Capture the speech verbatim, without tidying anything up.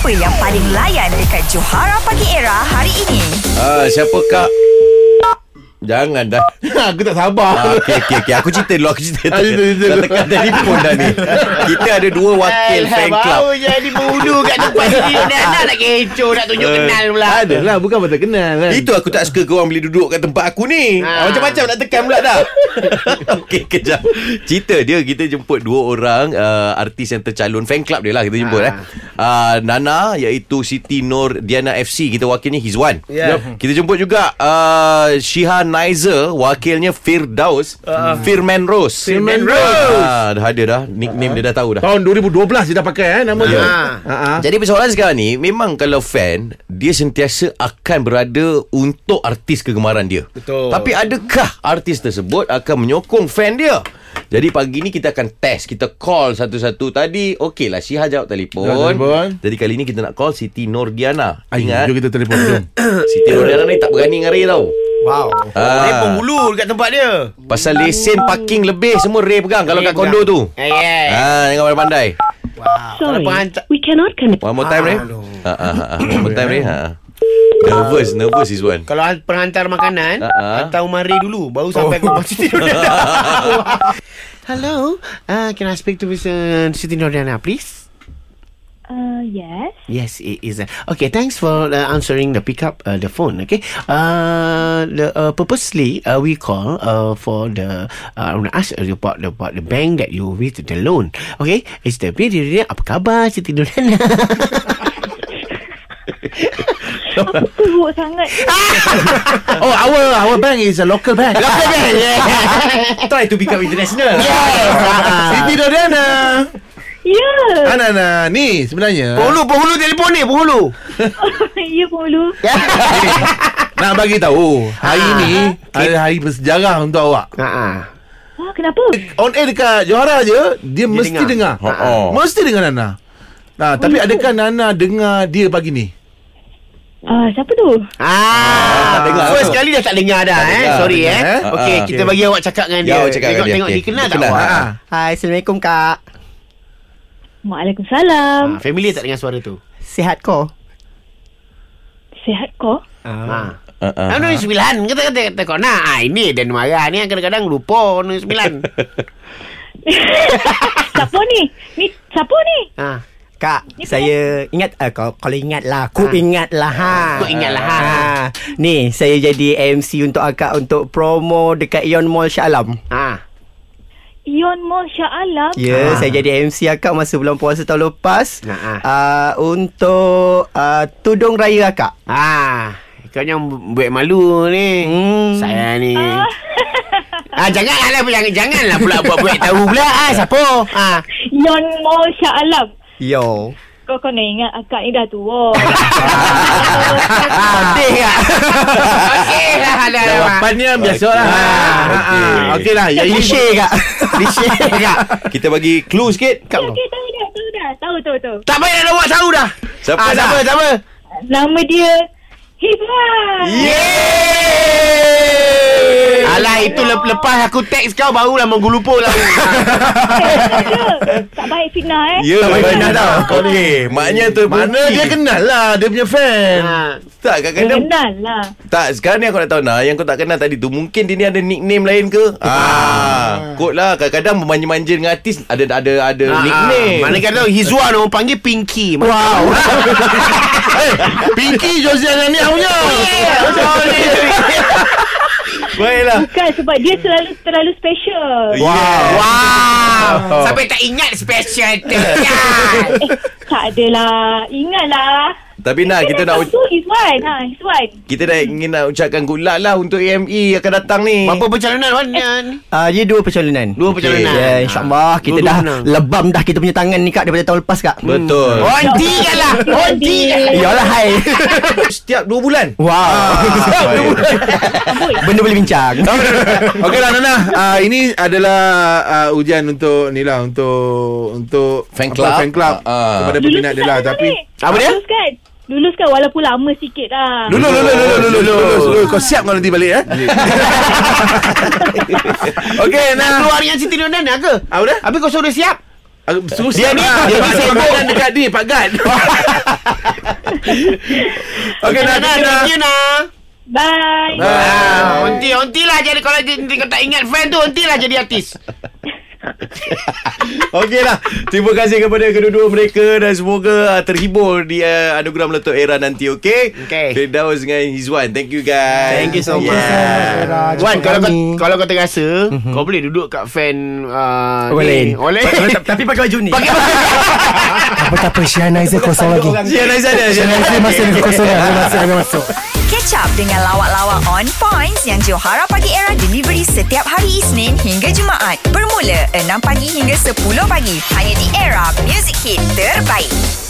Siapa yang paling layan dekat Johara Pagi Era hari ini? Ah, siapa kak? Jangan dah. Aku tak sabar. Ah, okay, okay, okay. Aku cerita dulu. Aku cerita Ah, cerita, cerita. Dah tekan telefon dah ni. Kita ada dua wakil fan club. Baru jadi berhudu kat tempat sini. Nak nak kecoh, nak tunjuk kenal pula. Adalah, bukan betul kenal kan. Itu aku tak suka korang boleh duduk kat tempat aku ni. Ah. Macam-macam nak tekan pula dah. Okey, kejap. Cerita dia, kita jemput dua orang uh, artis yang tercalon. Fan club dia lah kita jemput. Ah. eh. Uh, Nana, iaitu Siti Nur Diana F C. Kita wakilnya Hizwan. Ya. Kita jemput juga uh, Shihan Naizer, wakilnya Firdaus. uh, Firman Rose. Firman Rose. Ah, dah ada dah. Nickname dia dah tahu dah. Tahun dua ribu dua belas dia dah pakai eh, nama dia. Ah. Ha ah. Jadi persoalan sekarang ni, memang kalau fan, dia sentiasa akan berada untuk artis kegemaran dia. Betul. Tapi adakah artis tersebut akan menyokong fan dia? Jadi pagi ni kita akan test. Kita call satu-satu. Tadi okey lah, Syihah jawab telefon. Jawab telefon. Jadi kali ni kita nak call Siti Nur Diana. Ay, Ingat, jom kita telefon jom. Siti Nur Diana ni tak berani dengan Ray tau. Wow. Ah. Dia penghulu dekat tempat dia. Pasal lesen parking lebih semua Ray pegang kalau Ray kat kondo pegang. tu. Eh, eh. Ah, jangan pandai-pandai. Wow. Kalau Sorry, penghantar. we cannot connect. One more time, Ray. Aduh. Ha ah, ha. One more time, Ray. Ha. Nervous, nervous is one. Kalau penghantar makanan, Ah, ah. hantar Umar Ray dulu, baru sampai ke rumah Siti Nordana. Hello, uh, can I speak to Mister Siti Nordana, please? Uh, yes. Yes, it is. Uh, okay, thanks for uh, answering the pickup uh, the phone. Okay, uh, the uh, purposely uh, we call uh, for the uh, I want to ask you about the about the bank that you with the loan. Okay, it's the video. Apa khabar Siti Nordana? Apa teruk sangat. Oh, our our bank is a local bank. Local bank. Yeah. Try to become international. Siti Nordana. Ya. Ana ana ni sebenarnya Penghulu, penghulu telefon ni, penghulu. Ya, Pulu. nak bagi tahu hari Ah. ni ada hari bersejarah untuk awak. Ha ah. Ah, kenapa? On air dekat Johara je, dia, Dia mesti dengar. dengar. Ha, oh. Mesti dengar Nana. Nah, tapi adakah Nana dengar dia pagi ni? Ah, siapa tu? Ah, tak dengar first tu. kali dah tak dengar dah Tak eh. dengar, Sorry tak eh. dengar, eh. Okey, Ah, kita okey. bagi awak cakap dengan Ya, dia. awak cakap dengan Tengok dia. tengok Okey. dia kenal Dia tak kenal. awak? Ah. Hai, Assalamualaikum Kak. Waalaikumsalam. Ah, familiar tak dengan suara tu? Sihat ko? Sihat kau? Ha. Ah, ah, Ah, nombor sembilan kata kata kata kau nak. Ah, ini dan marah ni kadang-kadang lupa nombor sembilan. Siapa ni? Ni siapa ni? Ha. Kak, Ni saya ingat uh, kalau, kalau ingat lah, ku Ha. ingat lah ha. Ku ingat lah, ha. Ni, saya jadi M C untuk akak untuk promo dekat Ion Mall Shah Alam. Ha. Ion Mall Shah Alam. Ya, Ha. saya jadi M C akak masa bulan puasa tahun lepas. Ha, ha. Uh, untuk uh, tudung raya akak. Ah, kau yang buat malu ni. Hmm. Saya ni. Ah, janganlah jangan janganlah pula buat-buat tahu pula. Ah, siapa? Ah. Ion Mall Shah Alam. Yo. Kau kena ingat akak ni dah tua. Sedih kak. Okey lah ada. Jawapannya biasalah. Ah, Ah, okey. ah. Okeylah, ya ini Cliche kak. Cliche kak. Kita bagi clue sikit. Okey, okay, tahu dah, tahu dah. Tahu, tahu, tahu. Tak payah nak buat tahu dah. Siapa Ah, dah? siapa siapa? Nama dia Hizwan. Yeay! Alah, itu lep- lepas aku teks kau barulah menggulupo lah. Tak baik fitnah eh. Ya, Tak payah nak tahu. Okey, maknanya tu mana dia kenal lah, dia punya fan. Ha. tak kadang-kadang Kenal lah. tak, sekarang ni aku nak tahu nak yang kau tak kenal tadi tu, mungkin dia ni ada nickname lain ke? Ah, kot lah, kadang-kadang memanja-manja dengan artis ada ada ada Ah, nickname. Mana kata Hizwan orang panggil Pinky. Wow. Eh, Pinky Josiana ni punya. Baiklah. Bukan sebab dia selalu terlalu special. Wow. Wow. Sampai tak ingat special tu. Ya. Eh, tak adalah. Ingatlah. Tapi nak kita nak Tu Hizwan. Ha, Hizwan. kita dah ingin nak ucapkan good luck lah untuk A M E akan datang ni. Berapa pencalonan Wan? Uh, dia dua percalonan. Dua pencalonan. Ya, insyaAllah kita Dua-dua dah menang. lebam dah kita punya tangan ni kak daripada tahun lepas kak. Betul. Onti kan lah. Onti kan lah. Yalah hai. Setiap dua bulan. Wow. Setiap dua bulan. Benda boleh bincang. Okeylah Nana, uh, ini adalah uh, ujian untuk ni lah, untuk untuk Fan apa, club. fan club Ah, ah. kepada peminat dia lah. Tapi Apa dia? Luluskan. Luluskan walaupun lama sikit lah. Lulus, lulus, lulus, lulus, lulus, lulus. Kau siap kau nanti balik eh? Okey, Nak nah. keluar dengan Siti Nordana ke? Apa dia? Habis kau suruh siap? Ah, susah Dia ni- lah. dia ni Pak Gad sibuk. makan dekat ni Pak Gad. Okey, Nah, Nah, thank you, Nah. Bye. Ah, onti, onti lah jadi kalau dia, dia tak ingat fan tu, onti lah jadi artis. Okeylah. Terima kasih kepada kedua-dua mereka dan semoga uh, terhibur di uh, anugerah Meletup Era nanti, okey? Okey. Firdaus dengan Hizwan. Thank you guys. Thank you so much. Yeah. Wan, kalau kau, kalau kau terasa, kau boleh duduk kat fan uh, Orang lain. ni. Orang lain. Tapi pakai baju ni. Pakai Apa tak apa, Syahnaizah kosong lagi. Sian Aizan dia. Sian Syahnaizah masih lagi kosong lagi. Masih lagi masuk. Catch up dengan lawak-lawak on points yang Johara Pagi Era delivery setiap hari Isnin hingga Jumaat. Bermula enam pagi hingga sepuluh pagi. Hanya di Era Music Hit terbaik.